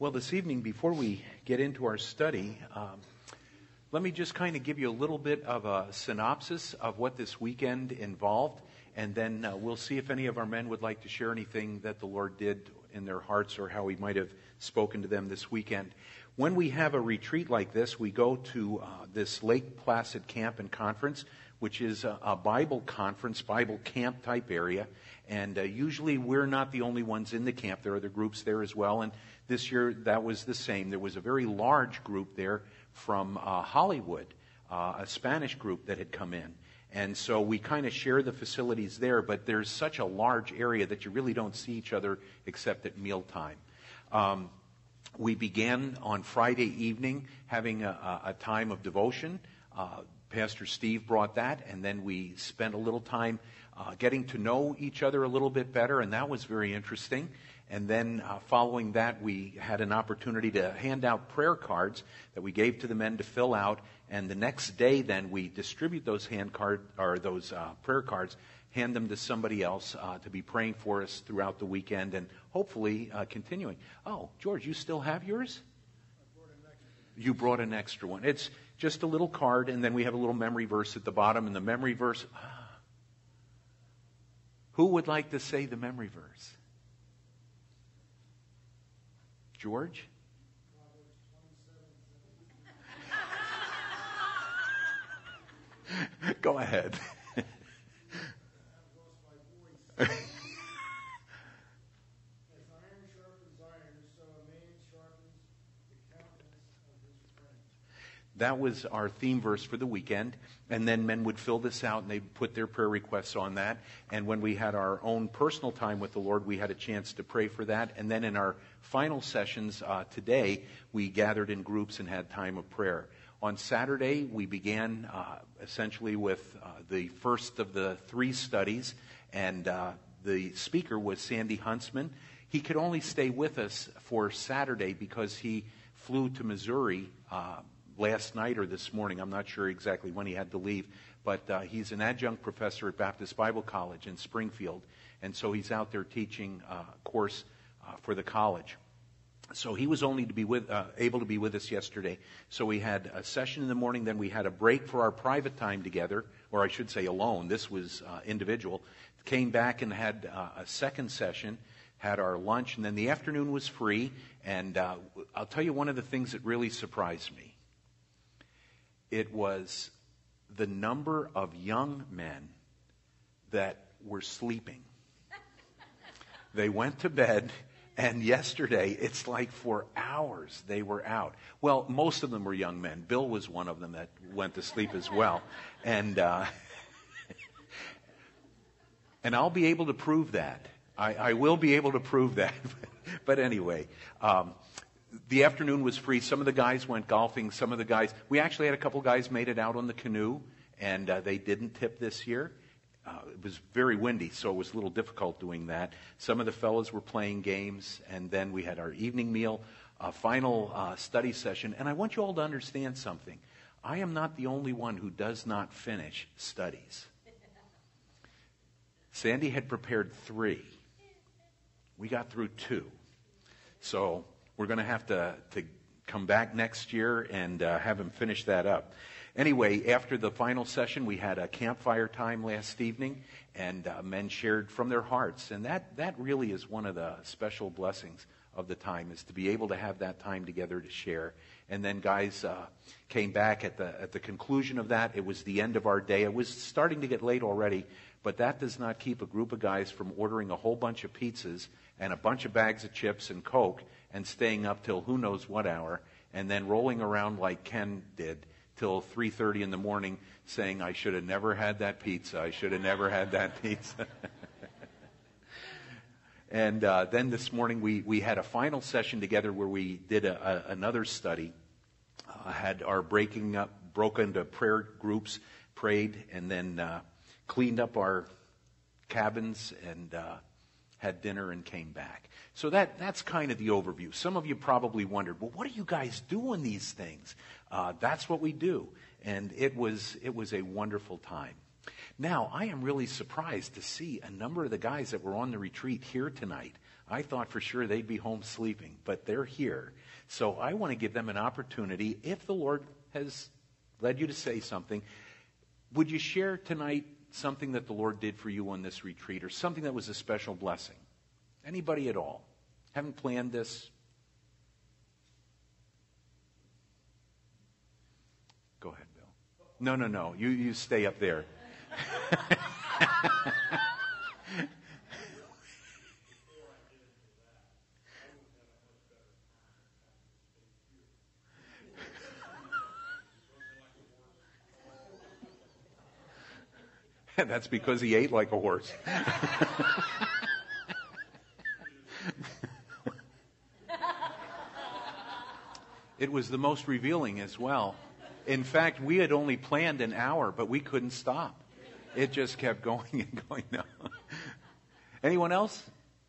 Well, this evening, before we get into our study, let me just kind of give you a little bit of a synopsis of what this weekend involved, and then we'll see if any of our men would like to share anything that the Lord did in their hearts or how He might have spoken to them this weekend. When we have a retreat like this, we go to this Lake Placid Camp and Conference, which is a Bible conference, Bible camp type area. And usually we're not the only ones in the camp. There are other groups there as well. And this year that was the same. There was a very large group there from Hollywood, a Spanish group that had come in. And so we kind of share the facilities there, but there's such a large area that you really don't see each other except at mealtime. We began on Friday evening having a time of devotion. Pastor Steve brought that, and then we spent a little time getting to know each other a little bit better, and that was very interesting. And then following that, we had an opportunity to hand out prayer cards that we gave to the men to fill out. And the next day, then we distribute those prayer cards, hand them to somebody else to be praying for us throughout the weekend, and hopefully continuing. Oh, George, you still have yours? You brought an extra one. It's just a little card, and then we have a little memory verse at the bottom. And the memory verse, who would like to say the memory verse? George? Go ahead. That was our theme verse for the weekend. And then men would fill this out and they'd put their prayer requests on that. And when we had our own personal time with the Lord, we had a chance to pray for that. And then in our final sessions today, we gathered in groups and had time of prayer. On Saturday, we began essentially with the first of the 3 studies. And the speaker was Sandy Huntsman. He could only stay with us for Saturday because he flew to Missouri last night or this morning. I'm not sure exactly when he had to leave, but he's an adjunct professor at Baptist Bible College in Springfield, and so he's out there teaching a course for the college. So he was only able to be with us yesterday. So we had a session in the morning, then we had a break for our private time together, or I should say alone. This was individual. Came back and had a second session, had our lunch, and then the afternoon was free. And I'll tell you one of the things that really surprised me. It was the number of young men that were sleeping. They went to bed, and yesterday, it's like for hours they were out. Well, most of them were young men. Bill was one of them that went to sleep as well. And and I'll be able to prove that. I will be able to prove that. But anyway, the afternoon was free. Some of the guys went golfing. Some of the guys, we actually had a couple guys made it out on the canoe, and they didn't tip this year. It was very windy, so it was a little difficult doing that. Some of the fellows were playing games, and then we had our evening meal, a final study session. And I want you all to understand something. I am not the only one who does not finish studies. Sandy had prepared 3. We got through 2. So we're going to have to come back next year and have him finish that up. Anyway, after the final session, we had a campfire time last evening, and men shared from their hearts. And that really is one of the special blessings of the time, is to be able to have that time together to share. And then guys came back at the conclusion of that. It was the end of our day. It was starting to get late already, but that does not keep a group of guys from ordering a whole bunch of pizzas and a bunch of bags of chips and Coke and staying up till who knows what hour, and then rolling around like Ken did till 3:30 in the morning saying, I should have never had that pizza. I should have never had that pizza. And then this morning we had a final session together where we did another study. Had our broke into prayer groups, prayed, and then cleaned up our cabins and had dinner and came back. So that's kind of the overview. Some of you probably wondered, well, what do you guys do in these things? That's what we do. And it was a wonderful time. Now, I am really surprised to see a number of the guys that were on the retreat here tonight. I thought for sure they'd be home sleeping, but they're here. So I want to give them an opportunity. If the Lord has led you to say something, would you share tonight something that the Lord did for you on this retreat, or something that was a special blessing? Anybody at all? Haven't planned this? Go ahead, Bill. No. You stay up there. That's because he ate like a horse. It was the most revealing as well. In fact, we had only planned an hour, but we couldn't stop. It just kept going and going. No. Anyone else?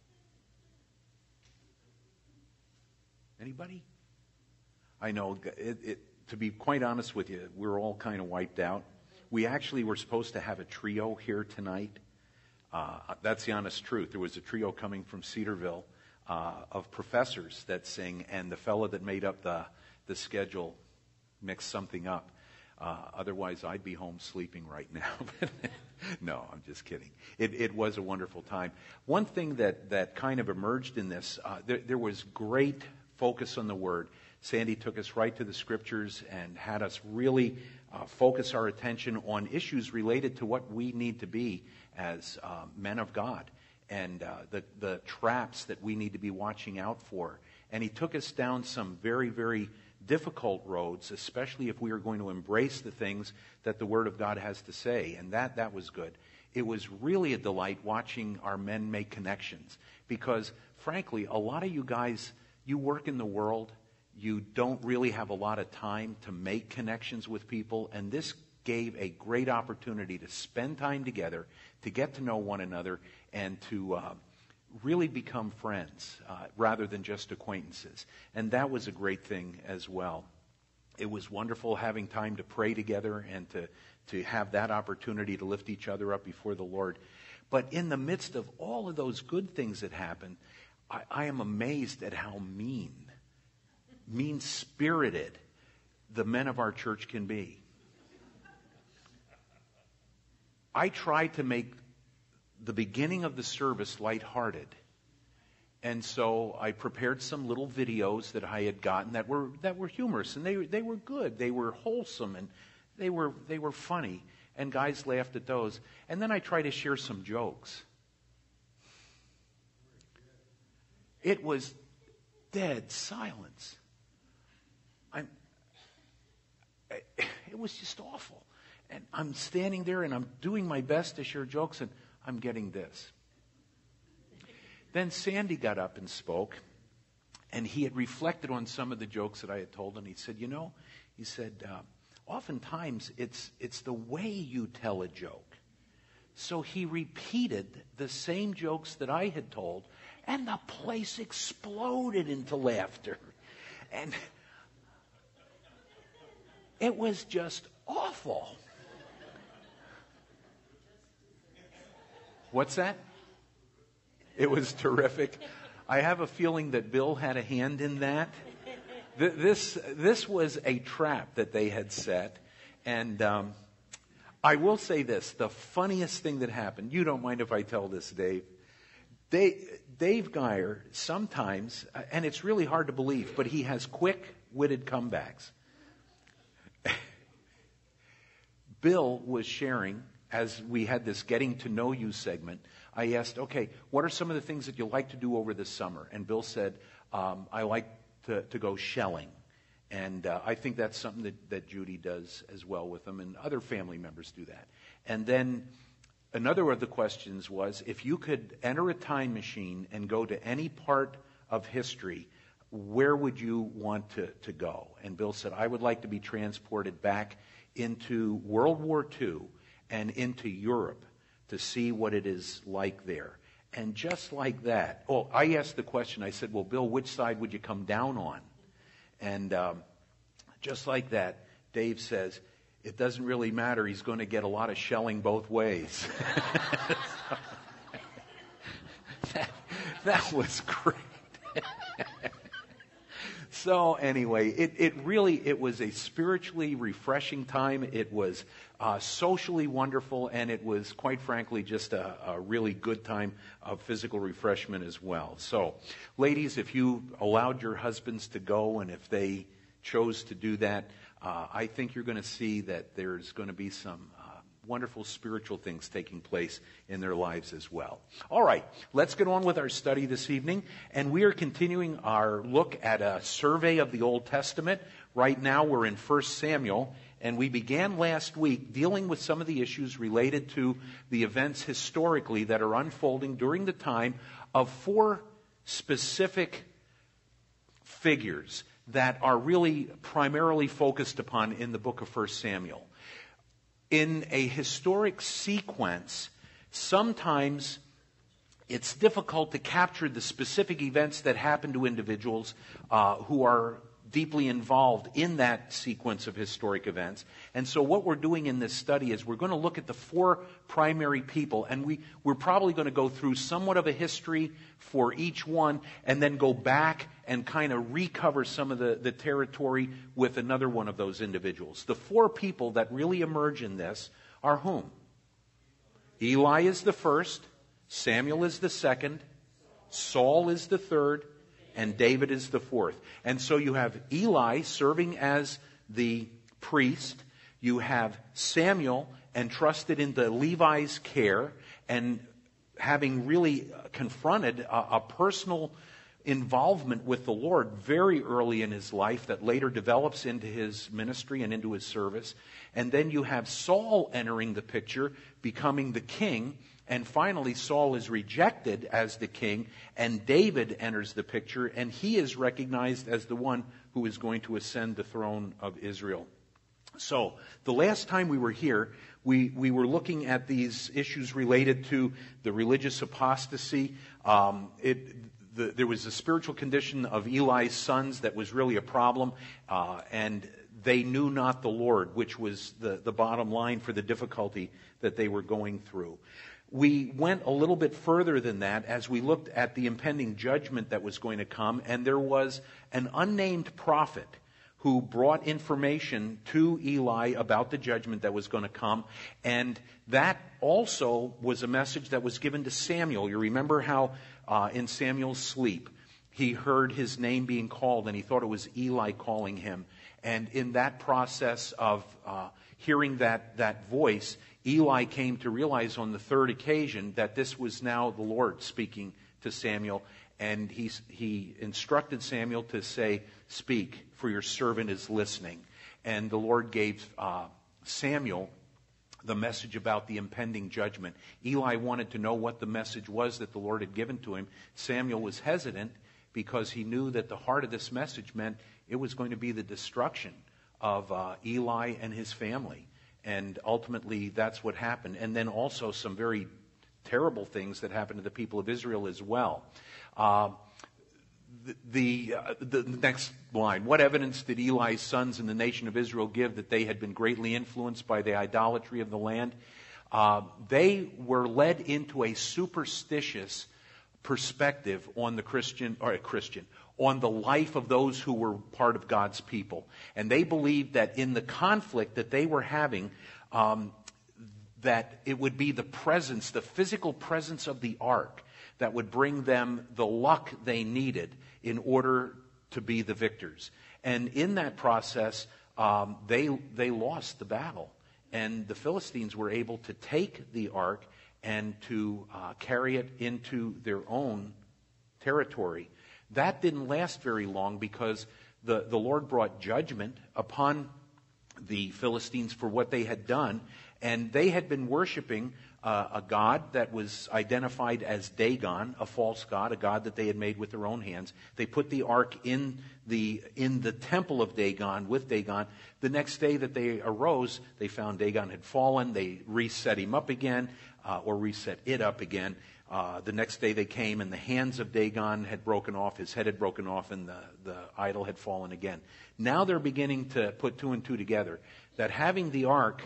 Anybody? I know, to be quite honest with you, we're all kind of wiped out. We actually were supposed to have a trio here tonight. That's the honest truth. There was a trio coming from Cedarville of professors that sing, and the fellow that made up the schedule mixed something up. Otherwise, I'd be home sleeping right now. No, I'm just kidding. It was a wonderful time. One thing that kind of emerged in this, there was great focus on the Word. Sandy took us right to the Scriptures and had us really focus our attention on issues related to what we need to be as men of God, and the traps that we need to be watching out for. And he took us down some very, very difficult roads, especially if we are going to embrace the things that the Word of God has to say. And that was good. It was really a delight watching our men make connections, because frankly, a lot of you guys, you work in the world, you don't really have a lot of time to make connections with people, and this gave a great opportunity to spend time together, to get to know one another, and to really become friends rather than just acquaintances. And that was a great thing as well. It was wonderful having time to pray together and to have that opportunity to lift each other up before the Lord. But in the midst of all of those good things that happened, I am amazed at how mean-spirited the men of our church can be. I tried to make the beginning of the service lighthearted. And so I prepared some little videos that I had gotten that were humorous, and they were good. They were wholesome, and they were funny, and guys laughed at those. And then I tried to share some jokes. It was dead silence. It was just awful. And I'm standing there and I'm doing my best to share jokes, and I'm getting this. Then Sandy got up and spoke, and he had reflected on some of the jokes that I had told, and he said, oftentimes it's the way you tell a joke. So he repeated the same jokes that I had told, and the place exploded into laughter. And it was just awful. What's that? It was terrific. I have a feeling that Bill had a hand in that. This was a trap that they had set. And I will say this, the funniest thing that happened, you don't mind if I tell this, Dave. Dave Geyer sometimes, and it's really hard to believe, but he has quick-witted comebacks. Bill was sharing, as we had this Getting to Know You segment, I asked, okay, what are some of the things that you like to do over the summer? And Bill said, I like to go shelling. And I think that's something that Judy does as well with them, and other family members do that. And then another of the questions was, if you could enter a time machine and go to any part of history, where would you want to go? And Bill said, I would like to be transported back into World War II and into Europe to see what it is like there. And just like that, I asked the question, I said, well, Bill, which side would you come down on? And just like that, Dave says, it doesn't really matter. He's going to get a lot of shelling both ways. That was great. So anyway, it was a spiritually refreshing time. It was socially wonderful, and it was, quite frankly, just a really good time of physical refreshment as well. So, ladies, if you allowed your husbands to go, and if they chose to do that, I think you're going to see that there's going to be some wonderful spiritual things taking place in their lives as well. All right, let's get on with our study this evening. And we are continuing our look at a survey of the Old Testament. Right now we're in 1 Samuel, and we began last week dealing with some of the issues related to the events historically that are unfolding during the time of 4 specific figures that are really primarily focused upon in the book of 1 Samuel. In a historic sequence, sometimes it's difficult to capture the specific events that happen to individuals who are deeply involved in that sequence of historic events. And so what we're doing in this study is we're going to look at the 4 primary people, and we're probably going to go through somewhat of a history for each one, and then go back and kind of recover some of the territory with another one of those individuals. The 4 people that really emerge in this are whom? Eli is the first, Samuel is the second, Saul is the third, and David is the fourth. And so you have Eli serving as the priest. You have Samuel entrusted into Levi's care and having really confronted a personal involvement with the Lord very early in his life that later develops into his ministry and into his service. And then you have Saul entering the picture, becoming the king. And finally, Saul is rejected as the king, and David enters the picture, and he is recognized as the one who is going to ascend the throne of Israel. So, the last time we were here, we were looking at these issues related to the religious apostasy. There was a spiritual condition of Eli's sons that was really a problem, and they knew not the Lord, which was the bottom line for the difficulty that they were going through. We went a little bit further than that as we looked at the impending judgment that was going to come, and there was an unnamed prophet who brought information to Eli about the judgment that was going to come, and that also was a message that was given to Samuel. You remember how in Samuel's sleep he heard his name being called, and he thought it was Eli calling him. And in that process of hearing that voice, Eli came to realize on the third occasion that this was now the Lord speaking to Samuel, and he instructed Samuel to say, "Speak, for your servant is listening." And the Lord gave Samuel the message about the impending judgment. Eli wanted to know what the message was that the Lord had given to him. Samuel was hesitant because he knew that the heart of this message meant it was going to be the destruction of Eli and his family. And ultimately, that's what happened. And then also some very terrible things that happened to the people of Israel as well. The next line, what evidence did Eli's sons in the nation of Israel give that they had been greatly influenced by the idolatry of the land? They were led into a superstitious perspective on on the life of those who were part of God's people. And they believed that in the conflict that they were having, that it would be the physical presence of the ark that would bring them the luck they needed in order to be the victors. And in that process, they lost the battle. And the Philistines were able to take the ark and to carry it into their own territory. That didn't last very long because the Lord brought judgment upon the Philistines for what they had done. And they had been worshiping a god that was identified as Dagon, a false god, a god that they had made with their own hands. They put the ark in the temple of Dagon with Dagon. The next day that they arose, they found Dagon had fallen. They reset him up again, or reset it up again. The next day they came, and the hands of Dagon had broken off, his head had broken off, and the idol had fallen again. Now they're beginning to put 2 and 2 together, that having the ark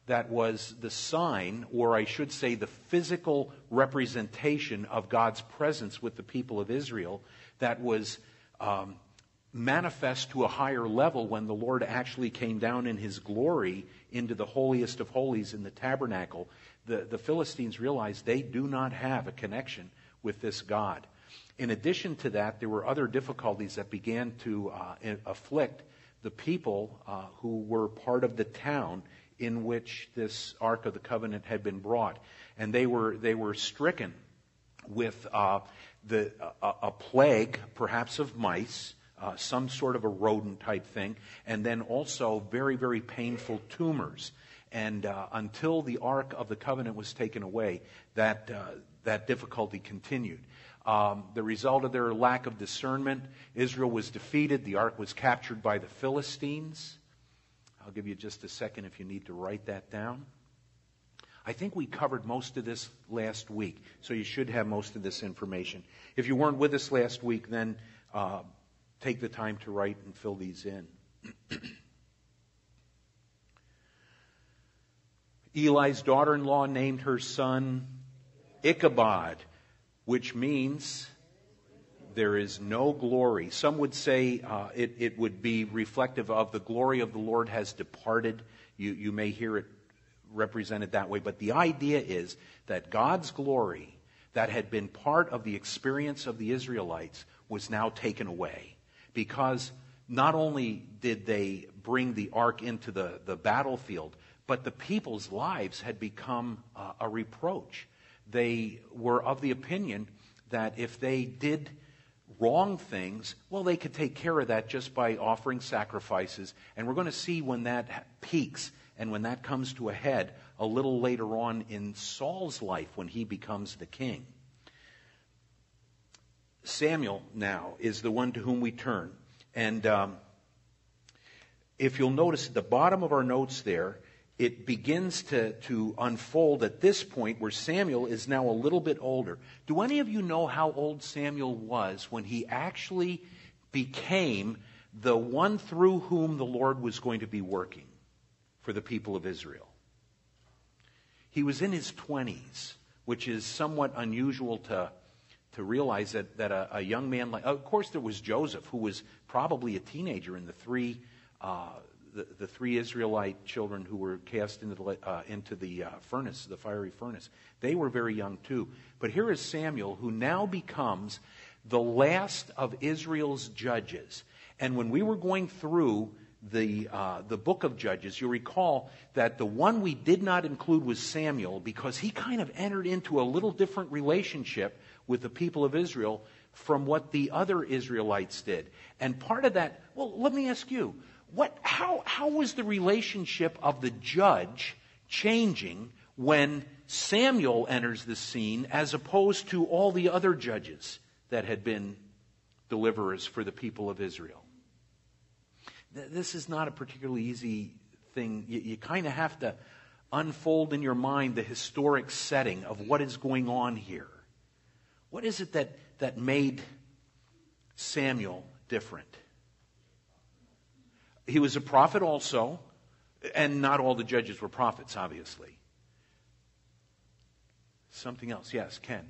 that was the sign, or I should say the physical representation of God's presence with the people of Israel, that was manifest to a higher level when the Lord actually came down in His glory into the holiest of holies in the tabernacle. The Philistines realized they do not have a connection with this God. In addition to that, there were other difficulties that began to afflict the people who were part of the town in which this Ark of the Covenant had been brought. And they were stricken with a plague, perhaps of mice, some sort of a rodent type thing, and then also very, very painful tumors. And until the Ark of the Covenant was taken away, that difficulty continued. The result of their lack of discernment, Israel was defeated. The Ark was captured by the Philistines. I'll give you just a second if you need to write that down. I think we covered most of this last week, so you should have most of this information. If you weren't with us last week, then take the time to write and fill these in. Eli's daughter-in-law named her son Ichabod, which means there is no glory. Some would say it would be reflective of the glory of the Lord has departed. You may hear it represented that way, but the idea is that God's glory that had been part of the experience of the Israelites was now taken away, because not only did they bring the ark into the battlefield, but the people's lives had become a reproach. They were of the opinion that if they did wrong things, well, they could take care of that just by offering sacrifices. And we're going to see when that peaks and when that comes to a head a little later on in Saul's life when he becomes the king. Samuel now is the one to whom we turn. And if you'll notice at the bottom of our notes there, it begins to unfold at this point where Samuel is now a little bit older. Do any of you know how old Samuel was when he actually became the one through whom the Lord was going to be working for the people of Israel? He was in his 20s, which is somewhat unusual to realize that a young man like... Of course, there was Joseph, who was probably a teenager in the three Israelite children who were cast into the furnace, the fiery furnace. They were very young too. But here is Samuel, who now becomes the last of Israel's judges. And when we were going through the book of Judges, you'll recall that the one we did not include was Samuel, because he kind of entered into a little different relationship with the people of Israel from what the other Israelites did. And part of that, well, let me ask you, how was the relationship of the judge changing when Samuel enters the scene as opposed to all the other judges that had been deliverers for the people of Israel? This is not a particularly easy thing. You kind of have to unfold in your mind the historic setting of what is going on here. What is it that made Samuel different? He was a prophet also, and not all the judges were prophets, obviously. Something else. Yes, Ken.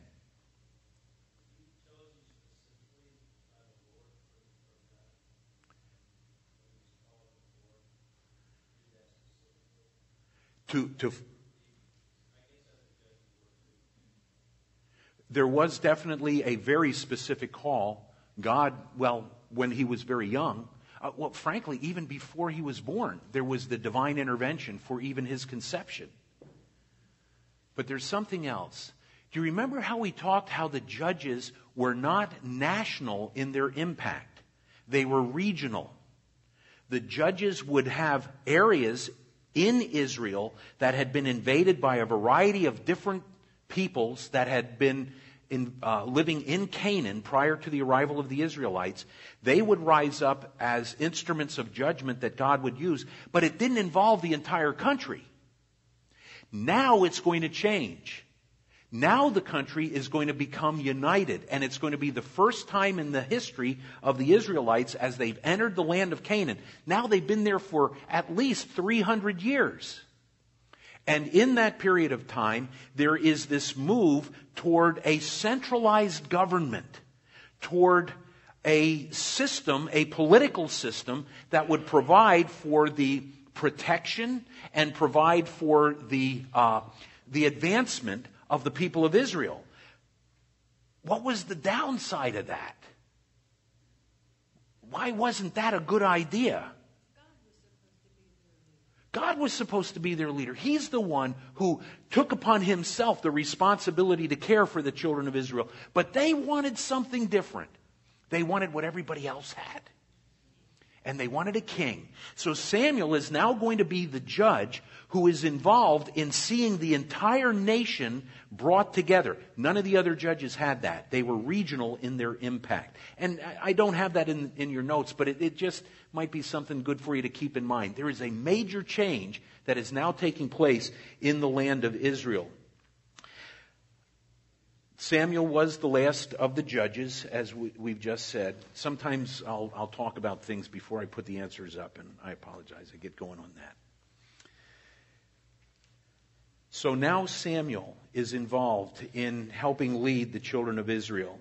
There was definitely a very specific call. God, when he was very young, frankly, even before he was born, there was the divine intervention for even his conception. But there's something else. Do you remember how we talked how the judges were not national in their impact? They were regional. The judges would have areas in Israel that had been invaded by a variety of different peoples that had been living in Canaan prior to the arrival of the Israelites. They would rise up as instruments of judgment that God would use, but it didn't involve the entire country. Now it's going to change. Now the country is going to become united, and it's going to be the first time in the history of the Israelites as they've entered the land of Canaan. Now they've been there for at least 300 years. And in that period of time, there is this move toward a centralized government, toward a system, a political system that would provide for the protection and provide for the advancement of the people of Israel. What was the downside of that? Why wasn't that a good idea? God was supposed to be their leader. He's the one who took upon himself the responsibility to care for the children of Israel. But they wanted something different. They wanted what everybody else had. And they wanted a king. So Samuel is now going to be the judge who is involved in seeing the entire nation brought together. None of the other judges had that. They were regional in their impact. And I don't have that in your notes, but it just might be something good for you to keep in mind. There is a major change that is now taking place in the land of Israel. Samuel was the last of the judges, as we've just said. Sometimes I'll talk about things before I put the answers up, and I apologize. I get going on that. So now Samuel is involved in helping lead the children of Israel.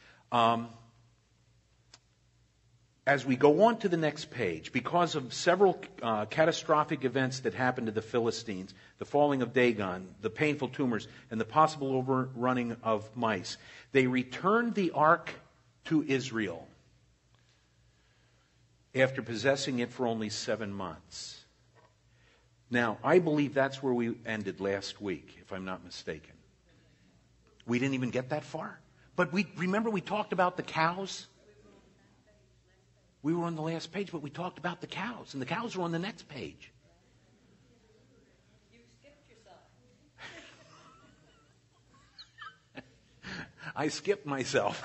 As we go on to the next page, because of several catastrophic events that happened to the Philistines, the falling of Dagon, the painful tumors, and the possible overrunning of mice, they returned the ark to Israel after possessing it for only 7 months. Now, I believe that's where we ended last week, if I'm not mistaken. We didn't even get that far. But remember we talked about the cows? We were on the last page, but we talked about the cows, and the cows were on the next page. You skipped yourself. I skipped myself.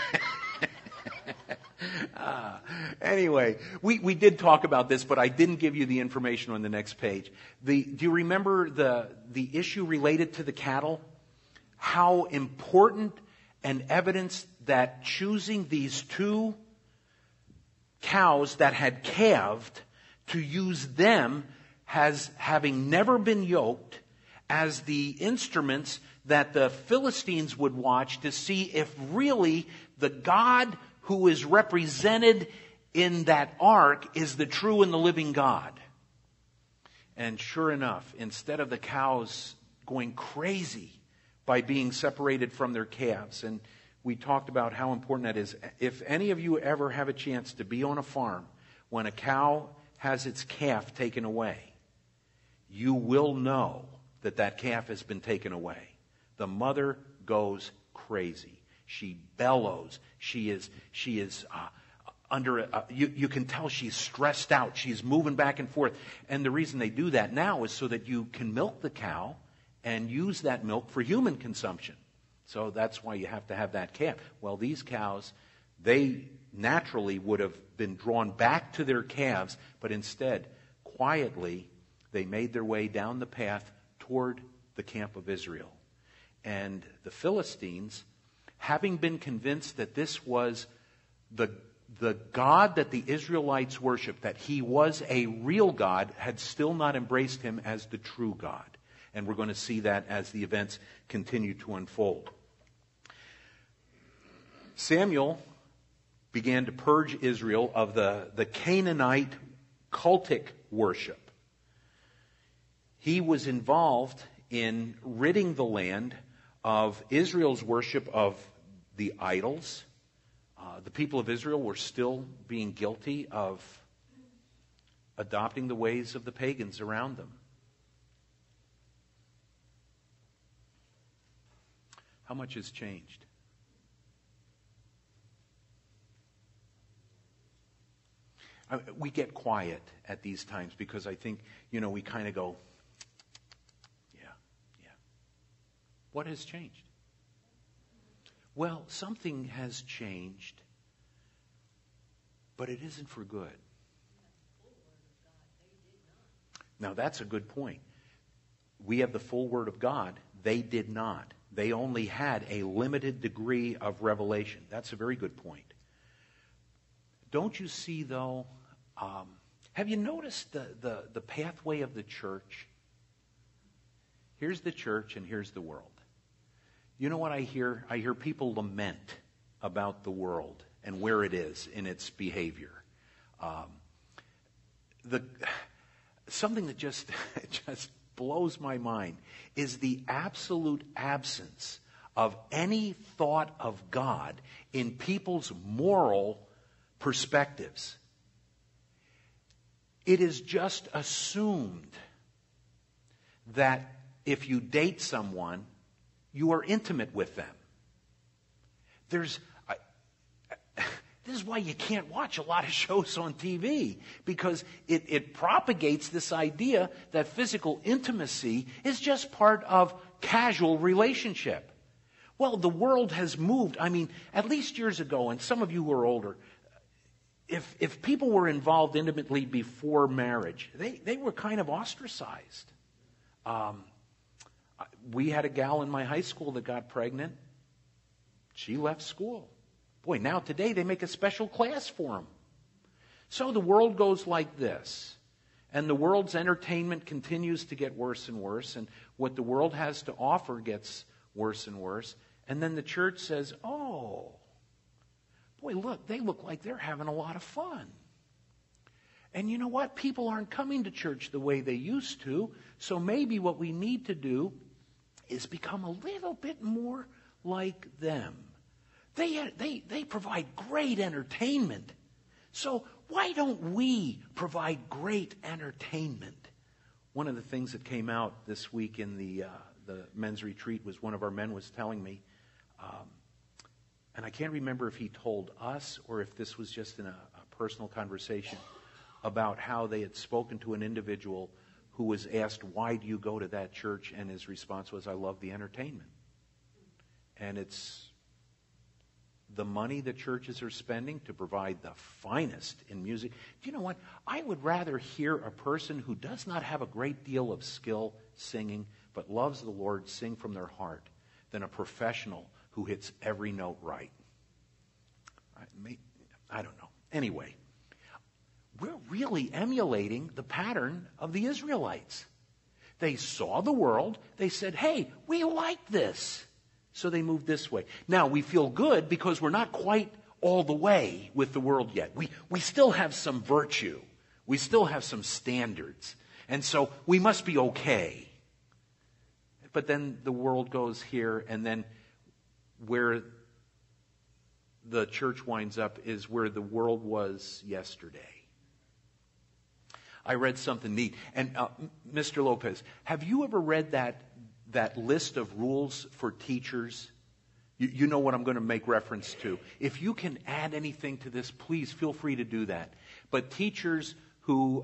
Anyway, we did talk about this, but I didn't give you the information on the next page. Do you remember the issue related to the cattle? How important and evidence that choosing these 2 cows that had calved, to use them as having never been yoked as the instruments that the Philistines would watch to see if really the God who is represented in that ark is the true and the living God. And sure enough, instead of the cows going crazy by being separated from their calves, and we talked about how important that is. If any of you ever have a chance to be on a farm when a cow has its calf taken away, you will know that that calf has been taken away. The mother goes crazy. She bellows. She is you can tell she's stressed out. She's moving back and forth. And the reason they do that now is so that you can milk the cow and use that milk for human consumption. So that's why you have to have that calf. Well, these cows, they naturally would have been drawn back to their calves, but instead, quietly, they made their way down the path toward the camp of Israel. And the Philistines, having been convinced that this was the God that the Israelites worshiped, that he was a real God, had still not embraced him as the true God. And we're going to see that as the events continue to unfold. Samuel began to purge Israel of the Canaanite cultic worship. He was involved in ridding the land of Israel's worship of the idols. The people of Israel were still being guilty of adopting the ways of the pagans around them. How much has changed? We get quiet at these times because I think, we kind of go, yeah. What has changed? Well, something has changed, but it isn't for good. Now, that's a good point. We have the full Word of God. They did not. They only had a limited degree of revelation. That's a very good point. Don't you see, though, have you noticed the pathway of the church? Here's the church and here's the world. You know what I hear? I hear people lament about the world and where it is in its behavior. Something that just blows my mind is the absolute absence of any thought of God in people's moral perspectives. It is just assumed that if you date someone, you are intimate with them. This is why you can't watch a lot of shows on TV, because it propagates this idea that physical intimacy is just part of casual relationship. Well, the world has moved. I mean, at least years ago, and some of you who are older, if people were involved intimately before marriage, they were kind of ostracized. We had a gal in my high school that got pregnant. She left school. Boy, now today they make a special class for them. So the world goes like this. And the world's entertainment continues to get worse and worse. And what the world has to offer gets worse and worse. And then the church says, oh, boy, look, they look like they're having a lot of fun. And you know what? People aren't coming to church the way they used to. So maybe what we need to do is become a little bit more like them. They provide great entertainment. So why don't we provide great entertainment? One of the things that came out this week in the men's retreat was one of our men was telling me, and I can't remember if he told us or if this was just in a personal conversation, about how they had spoken to an individual who was asked, why do you go to that church? And his response was, I love the entertainment. And it's the money that churches are spending to provide the finest in music. Do you know what? I would rather hear a person who does not have a great deal of skill singing, but loves the Lord sing from their heart, than a professional who hits every note right. I don't know. Anyway, we're really emulating the pattern of the Israelites. They saw the world. They said, hey, we like this. So they moved this way. Now, we feel good because we're not quite all the way with the world yet. We still have some virtue. We still have some standards. And so we must be okay. But then the world goes here, and then where the church winds up is where the world was yesterday. I read something neat. And Mr. Lopez, have you ever read that list of rules for teachers? You know what I'm going to make reference to. If you can add anything to this, please feel free to do that. But teachers who,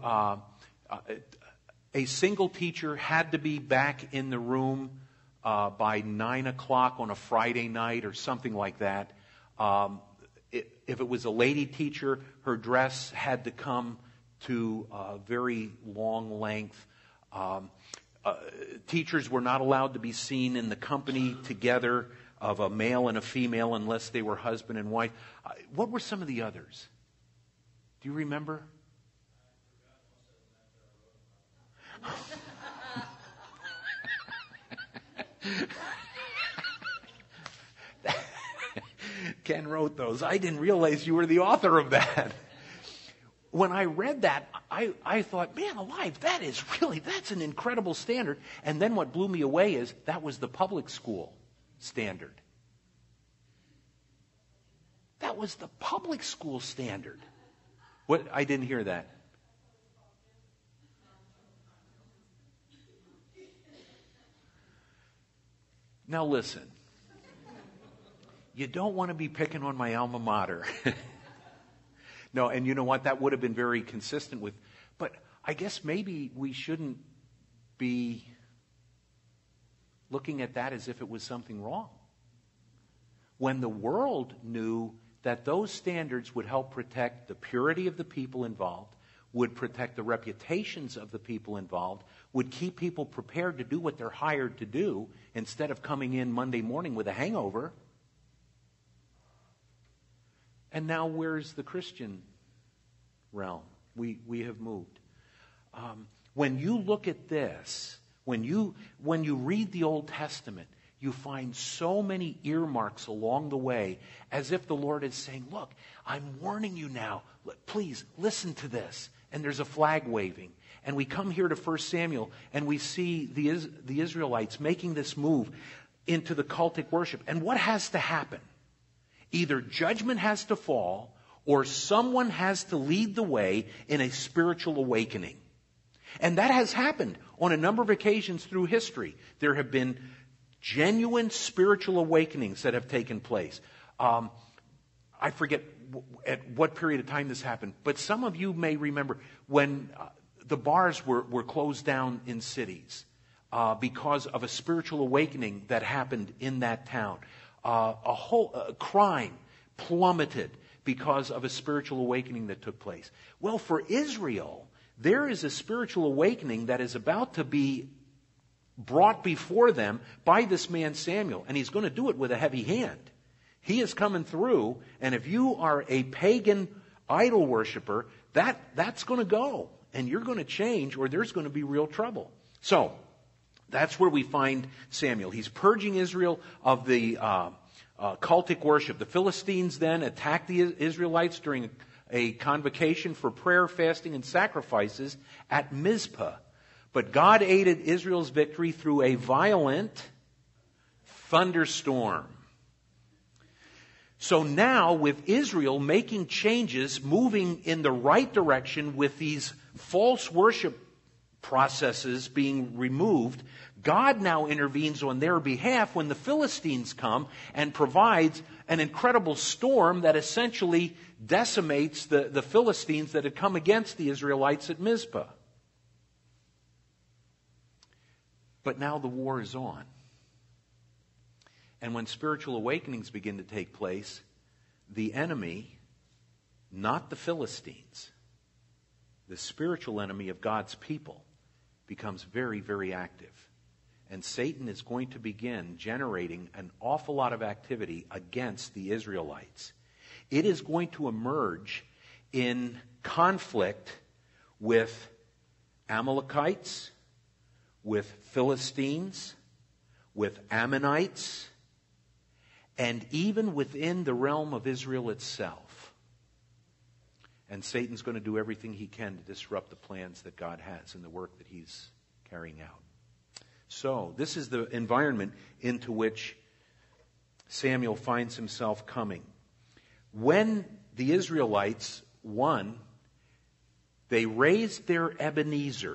a single teacher had to be back in the room by 9 o'clock on a Friday night or something like that. If it was a lady teacher, her dress had to come to a very long length. Teachers were not allowed to be seen in the company together of a male and a female unless they were husband and wife. What were some of the others? Do you remember? Ken wrote those. I didn't realize you were the author of that. When I read that, I thought, man alive, that's an incredible standard. And then what blew me away is that was the public school standard. That was the public school standard. What? I didn't hear that. Now listen. You don't want to be picking on my alma mater. No, and you know what? That would have been very consistent with... But I guess maybe we shouldn't be looking at that as if it was something wrong. When the world knew that those standards would help protect the purity of the people involved, would protect the reputations of the people involved, would keep people prepared to do what they're hired to do instead of coming in Monday morning with a hangover. And now where's the Christian realm? We have moved. When you look at this, When you read the Old Testament, you find so many earmarks along the way, as if the Lord is saying, look, I'm warning you now. Please, listen to this. And there's a flag waving. And we come here to 1 Samuel, and we see the Israelites making this move into the cultic worship. And what has to happen? Either judgment has to fall, or someone has to lead the way in a spiritual awakening. And that has happened on a number of occasions through history. There have been genuine spiritual awakenings that have taken place. I forget at what period of time this happened, but some of you may remember when the bars were closed down in cities because of a spiritual awakening that happened in that town. A whole crime plummeted because of a spiritual awakening that took place. Well, for Israel, there is a spiritual awakening that is about to be brought before them by this man Samuel, and he's going to do it with a heavy hand. He is coming through, and if you are a pagan idol worshiper, that's going to go, and you're going to change, or there's going to be real trouble. So, that's where we find Samuel. He's purging Israel of the cultic worship. The Philistines then attack the Israelites during a convocation for prayer, fasting, and sacrifices at Mizpah. But God aided Israel's victory through a violent thunderstorm. So now, with Israel making changes, moving in the right direction with these false worship processes being removed, God now intervenes on their behalf when the Philistines come and provides an incredible storm that essentially decimates the Philistines that had come against the Israelites at Mizpah. But now the war is on. And when spiritual awakenings begin to take place, the enemy, not the Philistines, the spiritual enemy of God's people, becomes very, very active. And Satan is going to begin generating an awful lot of activity against the Israelites. It is going to emerge in conflict with Amalekites, with Philistines, with Ammonites, and even within the realm of Israel itself. And Satan's going to do everything he can to disrupt the plans that God has and the work that he's carrying out. So, this is the environment into which Samuel finds himself coming. When the Israelites won, they raised their Ebenezer,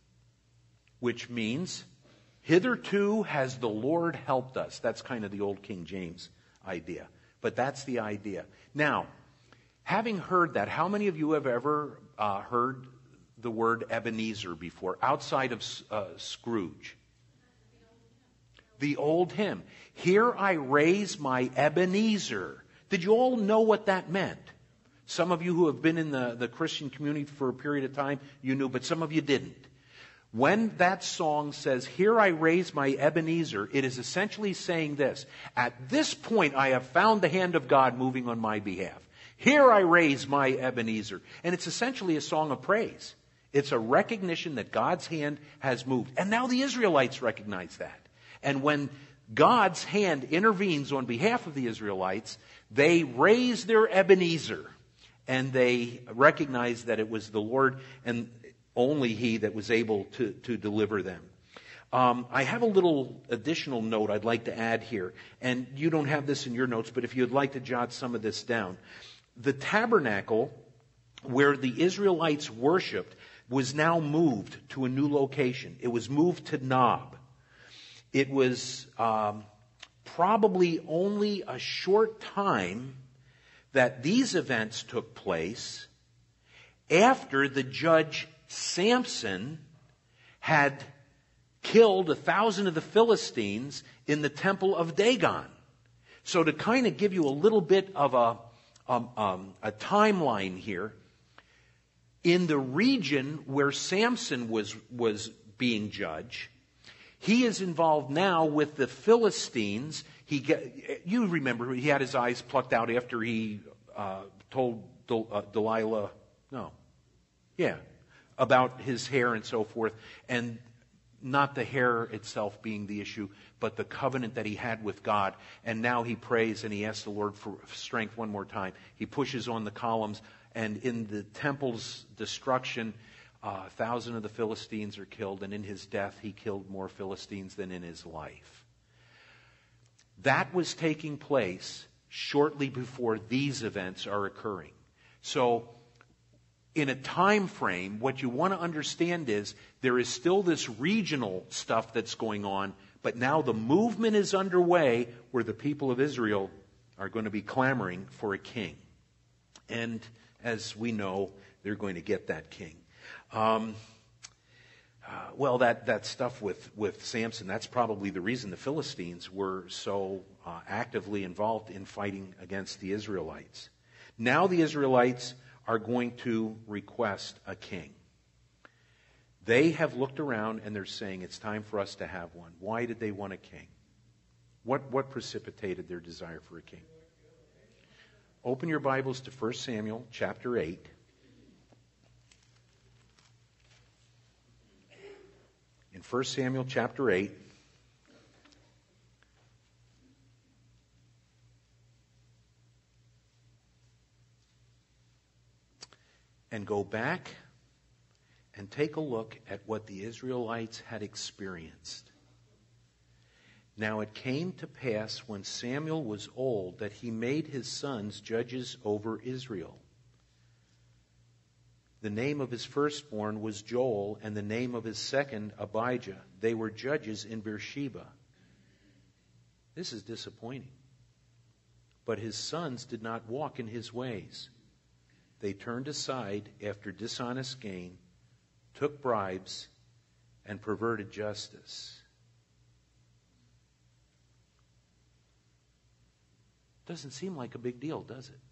which means, hitherto has the Lord helped us. That's kind of the old King James idea. But that's the idea. Now, having heard that, how many of you have ever heard the word Ebenezer before, outside of Scrooge? The old hymn. Here I raise my Ebenezer. Did you all know what that meant? Some of you who have been in the Christian community for a period of time, you knew, but some of you didn't. When that song says, here I raise my Ebenezer, it is essentially saying this: at this point I have found the hand of God moving on my behalf. Here I raise my Ebenezer. And it's essentially a song of praise. It's a recognition that God's hand has moved. And now the Israelites recognize that. And when God's hand intervenes on behalf of the Israelites, they raise their Ebenezer. And they recognize that it was the Lord and only He that was able to deliver them. I have a little additional note I'd like to add here. And you don't have this in your notes, but if you'd like to jot some of this down. The tabernacle where the Israelites worshipped was now moved to a new location. It was moved to Nob. It was probably only a short time that these events took place after the judge Samson had killed 1,000 of the Philistines in the temple of Dagon. So to kind of give you a little bit of a timeline here, in the region where Samson was being judged, he is involved now with the Philistines. You remember, he had his eyes plucked out after he told about his hair and so forth. And not the hair itself being the issue, but the covenant that he had with God. And now he prays and he asks the Lord for strength one more time. He pushes on the columns, and in the temple's destruction, 1,000 of the Philistines are killed, and in his death he killed more Philistines than in his life. That was taking place shortly before these events are occurring. So, in a time frame, what you want to understand is there is still this regional stuff that's going on, but now the movement is underway where the people of Israel are going to be clamoring for a king. And as we know, they're going to get that king. Well, that stuff with Samson, that's probably the reason the Philistines were so actively involved in fighting against the Israelites. Now the Israelites are going to request a king. They have looked around and they're saying it's time for us to have one. Why did they want a king? What precipitated their desire for a king? Open your Bibles to 1 Samuel chapter 8. In 1 Samuel chapter 8, and go back and take a look at what the Israelites had experienced. Now it came to pass when Samuel was old that he made his sons judges over Israel. The name of his firstborn was Joel, and the name of his second, Abijah. They were judges in Beersheba. This is disappointing. But his sons did not walk in his ways. They turned aside after dishonest gain, took bribes, and perverted justice. Doesn't seem like a big deal, does it?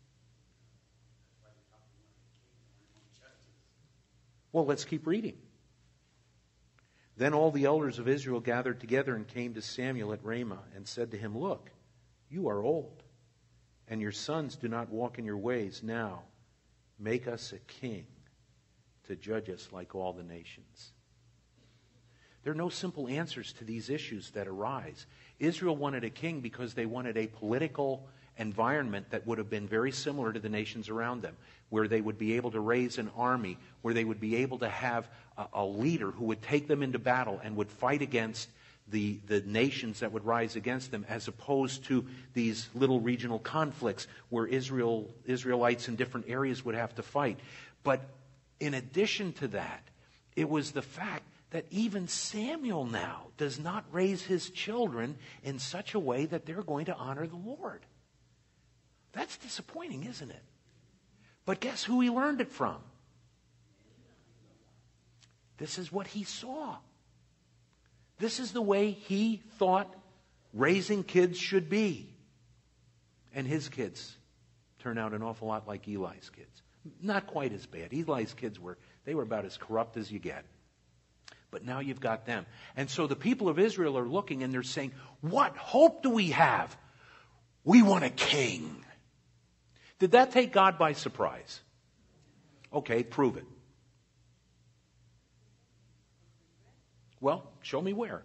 Well, let's keep reading. Then all the elders of Israel gathered together and came to Samuel at Ramah and said to him, "Look, you are old, and your sons do not walk in your ways. Now, make us a king to judge us like all the nations." There are no simple answers to these issues that arise. Israel wanted a king because they wanted a political environment that would have been very similar to the nations around them, where they would be able to raise an army, where they would be able to have a leader who would take them into battle and would fight against the nations that would rise against them, as opposed to these little regional conflicts where Israelites in different areas would have to fight. But in addition to that, it was the fact that even Samuel now does not raise his children in such a way that they're going to honor the Lord. That's disappointing, isn't it? But guess who he learned it from? This is what he saw. This is the way he thought raising kids should be. And his kids turn out an awful lot like Eli's kids. Not quite as bad. Eli's kids were about as corrupt as you get. But now you've got them. And so the people of Israel are looking and they're saying, what hope do we have? We want a king. Did that take God by surprise? Okay, prove it. Well, show me where.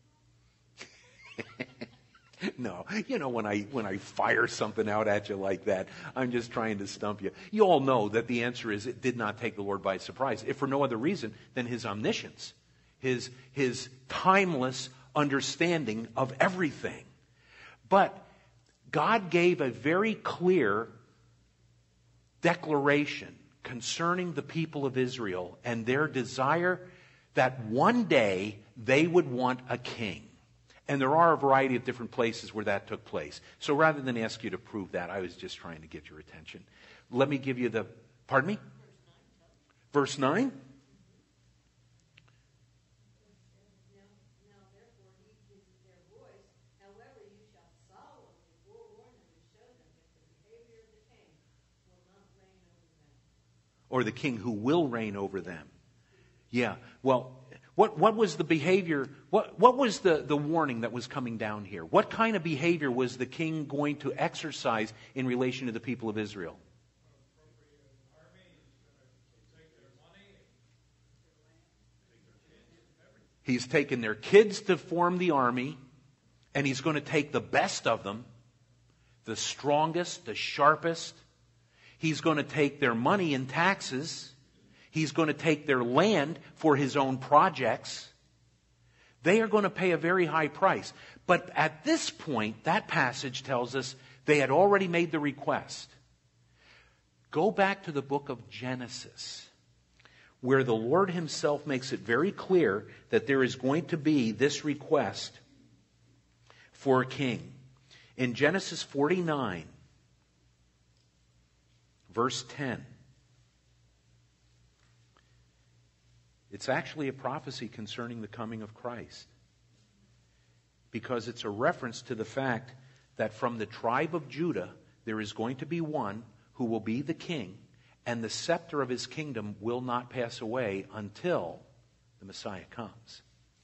No, when I fire something out at you like that, I'm just trying to stump you. You all know that the answer is it did not take the Lord by surprise, if for no other reason than his omniscience, his timeless understanding of everything. But God gave a very clear declaration concerning the people of Israel and their desire that one day they would want a king. And there are a variety of different places where that took place. So rather than ask you to prove that, I was just trying to get your attention. Let me give you pardon me? Verse 9? Or the king who will reign over them. Yeah. Well, what was the behavior? What was the warning that was coming down here? What kind of behavior was the king going to exercise in relation to the people of Israel? He's taken their kids to form the army, and he's going to take the best of them, the strongest, the sharpest. He's going to take their money in taxes. He's going to take their land for his own projects. They are going to pay a very high price. But at this point, that passage tells us they had already made the request. Go back to the book of Genesis, where the Lord himself makes it very clear that there is going to be this request for a king. In Genesis 49, verse 10, it's actually a prophecy concerning the coming of Christ, because it's a reference to the fact that from the tribe of Judah there is going to be one who will be the king, and the scepter of his kingdom will not pass away until the Messiah comes.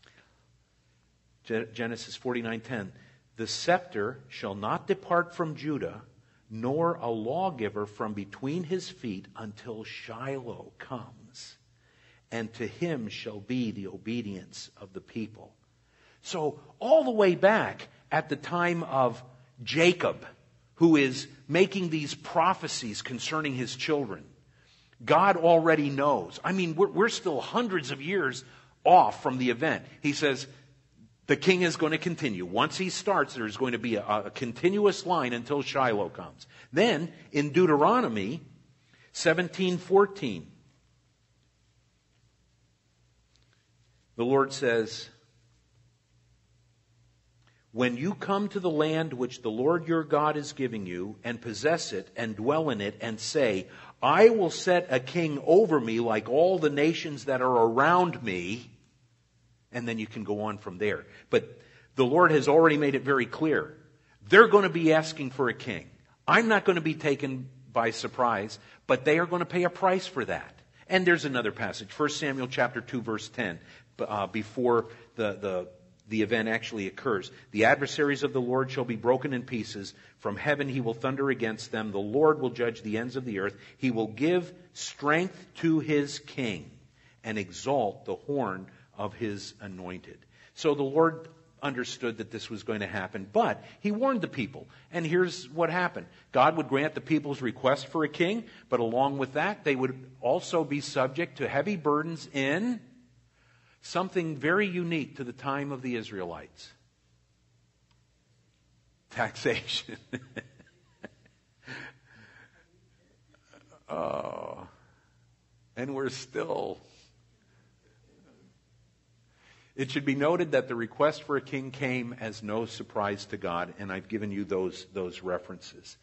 Genesis 49:10, the scepter shall not depart from Judah, nor a lawgiver from between his feet until Shiloh comes, and to him shall be the obedience of the people. So all the way back at the time of Jacob, who is making these prophecies concerning his children, God already knows. I mean, we're still hundreds of years off from the event. He says the king is going to continue. Once he starts, there's going to be a continuous line until Shiloh comes. Then in Deuteronomy 17:14, the Lord says, when you come to the land which the Lord your God is giving you, and possess it, and dwell in it, and say, I will set a king over me like all the nations that are around me, and then you can go on from there. But the Lord has already made it very clear. They're going to be asking for a king. I'm not going to be taken by surprise, but they are going to pay a price for that. And there's another passage, 1 Samuel chapter 2, verse 10, before the event actually occurs. The adversaries of the Lord shall be broken in pieces. From heaven he will thunder against them. The Lord will judge the ends of the earth. He will give strength to his king and exalt the horn of his anointed. So the Lord understood that this was going to happen, but he warned the people. And here's what happened. God would grant the people's request for a king, but along with that, they would also be subject to heavy burdens in something very unique to the time of the Israelites. Taxation. Oh, and we're still... It should be noted that the request for a king came as no surprise to God, and I've given you those references.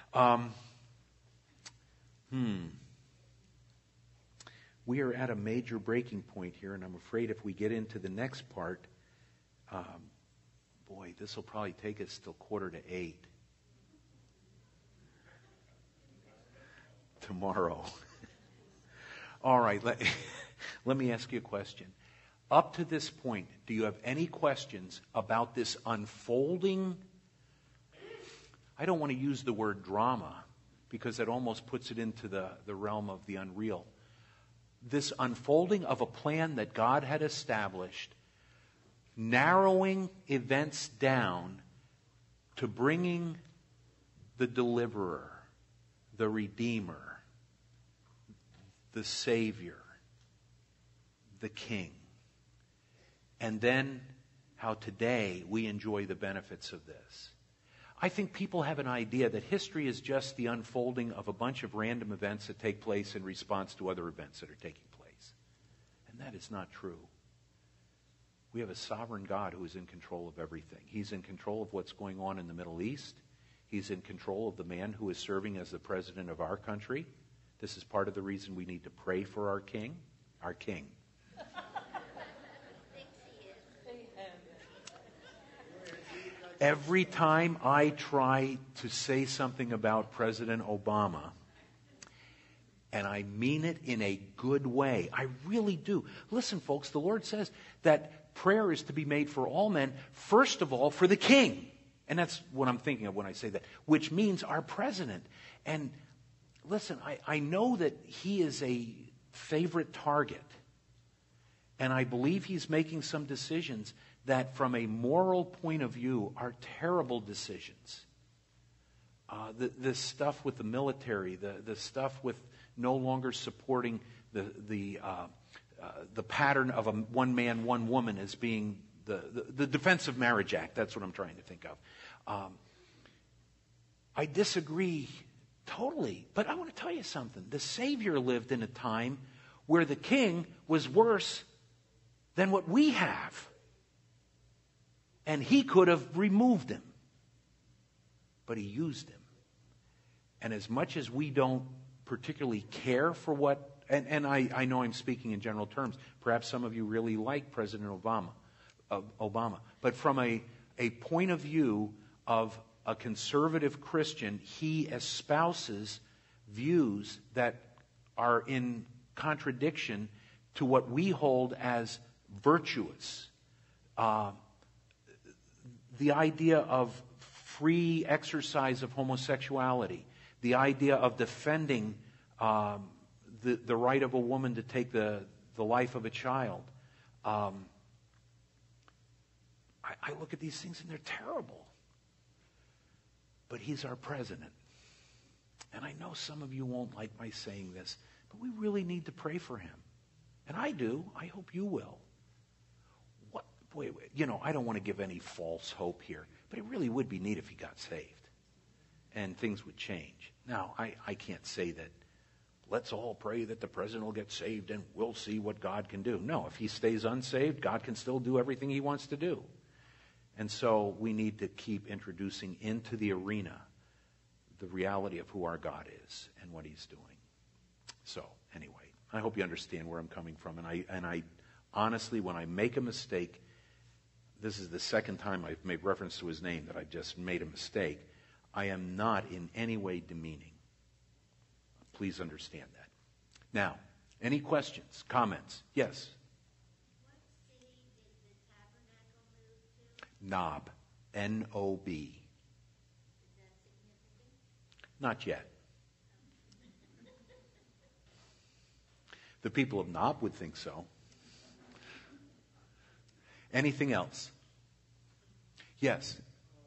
We are at a major breaking point here, and I'm afraid if we get into the next part, this will probably take us till 7:45 tomorrow. All right, let me ask you a question. Up to this point, do you have any questions about this unfolding? I don't want to use the word drama, because that almost puts it into the realm of the unreal. This unfolding of a plan that God had established, narrowing events down to bringing the deliverer, the redeemer, the savior, the king. And then how today we enjoy the benefits of this. I think people have an idea that history is just the unfolding of a bunch of random events that take place in response to other events that are taking place. And that is not true. We have a sovereign God who is in control of everything. He's in control of what's going on in the Middle East. He's in control of the man who is serving as the president of our country. This is part of the reason we need to pray for our king. Our king. Every time I try to say something about President Obama, and I mean it in a good way, I really do. Listen, folks, the Lord says that prayer is to be made for all men, first of all for the king. And that's what I'm thinking of when I say that, which means our president. And listen, I know that he is a favorite target. And I believe he's making some decisions that from a moral point of view are terrible decisions. The stuff with the military, the stuff with no longer supporting the pattern of a one man, one woman as being the Defense of Marriage Act. That's what I'm trying to think of. I disagree totally. But I want to tell you something. The Savior lived in a time where the king was worse than what we have. And he could have removed him. But he used him. And as much as we don't particularly care for what, and I know I'm speaking in general terms, perhaps some of you really like President Obama. But from a point of view of a conservative Christian, he espouses views that are in contradiction to what we hold as virtuous. The idea of free exercise of homosexuality, the idea of defending the right of a woman to take the life of a child. I look at these things and they're terrible. But he's our president. And I know some of you won't like my saying this, but we really need to pray for him. And I do. I hope you will. Wait, I don't want to give any false hope here, but it really would be neat if he got saved and things would change. Now, I can't say that let's all pray that the president will get saved and we'll see what God can do. No, if he stays unsaved, God can still do everything he wants to do. And so we need to keep introducing into the arena the reality of who our God is and what he's doing. So, anyway, I hope you understand where I'm coming from. And I honestly, when I make a mistake, this is the second time I've made reference to his name that I've just made a mistake. I am not in any way demeaning. Please understand that. Now, any questions, comments? Yes? What city did the tabernacle move to? Nob. N-O-B. Is that significant? Not yet. The people of Nob would think so. Anything else? Yes.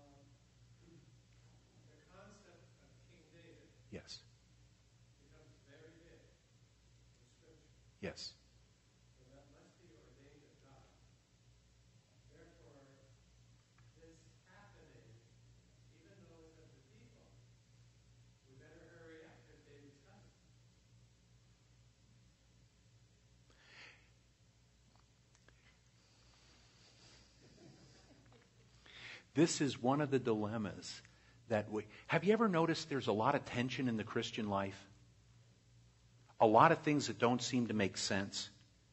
The concept of King David Yes. becomes very big in Scripture. Yes. So that must be ordained of God. Therefore, this happening, even though it's of the people, we better hurry up because David's coming. This is one of the dilemmas that we... Have you ever noticed there's a lot of tension in the Christian life? A lot of things that don't seem to make sense.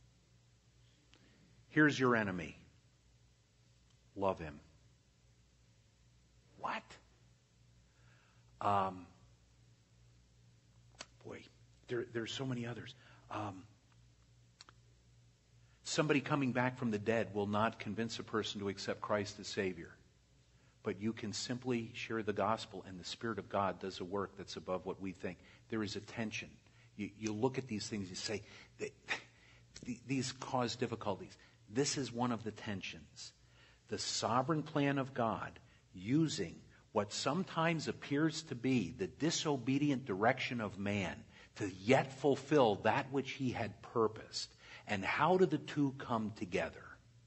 Here's your enemy. Love him. What? There's so many others. Somebody coming back from the dead will not convince a person to accept Christ as Savior. But you can simply share the gospel, and the Spirit of God does a work that's above what we think. There is a tension. You look at these things, you say, these cause difficulties. This is one of the tensions. The sovereign plan of God using what sometimes appears to be the disobedient direction of man to yet fulfill that which he had purposed. And how do the two come together?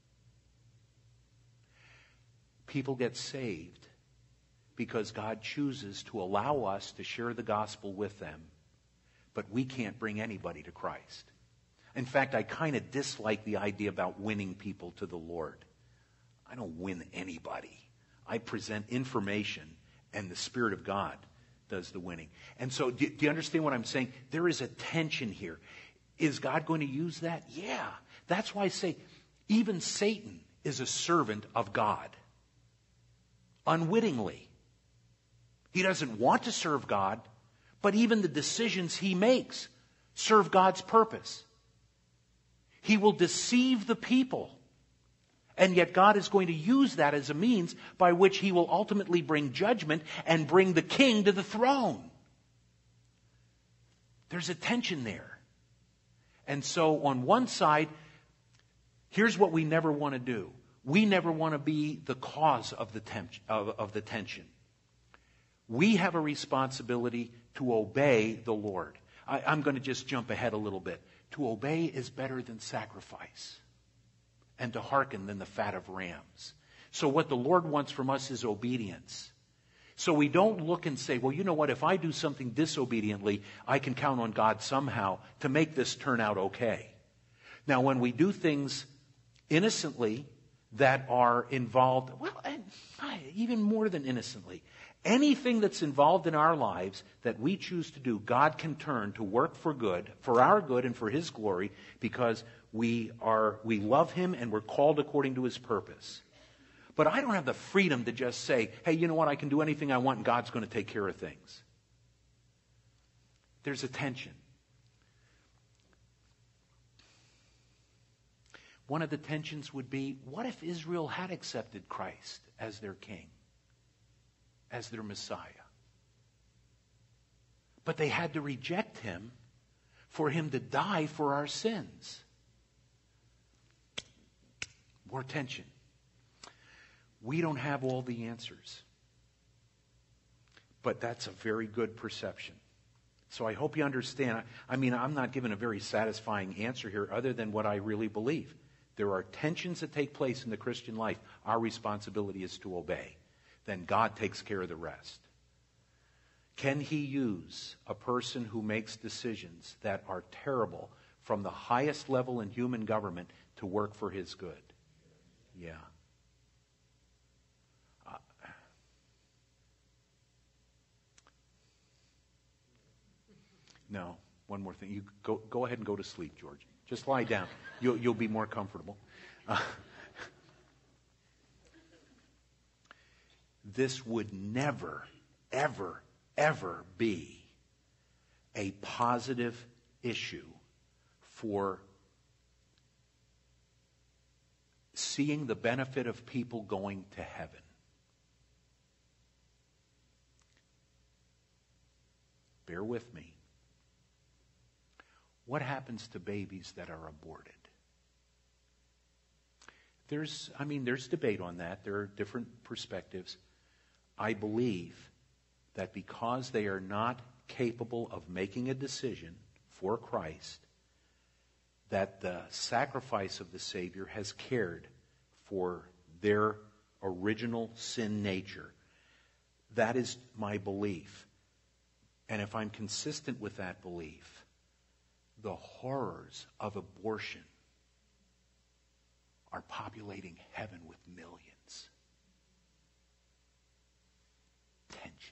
People get saved because God chooses to allow us to share the gospel with them, but we can't bring anybody to Christ. In fact, I kind of dislike the idea about winning people to the Lord. I don't win anybody. I present information, and the Spirit of God does the winning. And so, do you understand what I'm saying? There is a tension here. Is God going to use that? Yeah. That's why I say, even Satan is a servant of God. Unwittingly. He doesn't want to serve God, but even the decisions he makes serve God's purpose. He will deceive the people, and yet God is going to use that as a means by which he will ultimately bring judgment and bring the king to the throne. There's a tension there. And so on one side, Here's what we never want to do. We never want to be the cause of the tension. We have a responsibility to obey the Lord. I'm going to just jump ahead a little bit. To obey is better than sacrifice, and to hearken than the fat of rams. So what the Lord wants from us is obedience. So we don't look and say, well, you know what, if I do something disobediently, I can count on God somehow to make this turn out okay. Now, when we do things innocently that are involved, well, and even more than innocently, anything that's involved in our lives that we choose to do, God can turn to work for good, for our good and for His glory, because we love Him and we're called according to His purpose. But I don't have the freedom to just say, hey, you know what, I can do anything I want and God's going to take care of things. There's a tension. One of the tensions would be, what if Israel had accepted Christ as their king, as their Messiah? But they had to reject Him for Him to die for our sins. More tension. We don't have all the answers. But that's a very good perception. So I hope you understand. I'm not giving a very satisfying answer here other than what I really believe. There are tensions that take place in the Christian life. Our responsibility is to obey. Then God takes care of the rest. Can He use a person who makes decisions that are terrible from the highest level in human government to work for His good? Yeah. No. One more thing. You go ahead and go to sleep, George. Just lie down. You'll be more comfortable. This would never, ever, ever be a positive issue for seeing the benefit of people going to heaven. Bear with me. What happens to babies that are aborted? There's debate on that. There are different perspectives. I believe that because they are not capable of making a decision for Christ, that the sacrifice of the Savior has cared for their original sin nature. That is my belief. And if I'm consistent with that belief, the horrors of abortion are populating heaven with millions. Tension.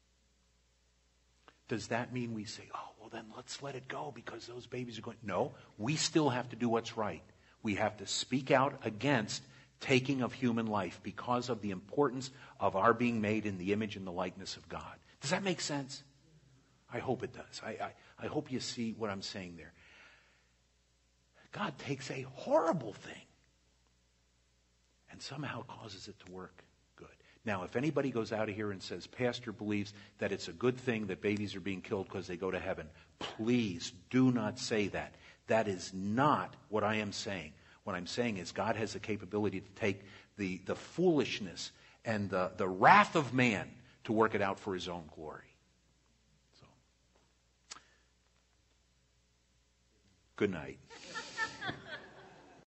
Does that mean we say, oh, well then let's let it go because those babies are going? No, we still have to do what's right. We have to speak out against taking of human life because of the importance of our being made in the image and the likeness of God. Does that make sense? I hope it does. I hope you see what I'm saying there. God takes a horrible thing and somehow causes it to work good. Now, if anybody goes out of here and says, Pastor believes that it's a good thing that babies are being killed because they go to heaven, please do not say that. That is not what I am saying. What I'm saying is God has the capability to take the foolishness and the wrath of man to work it out for His own glory. Good night.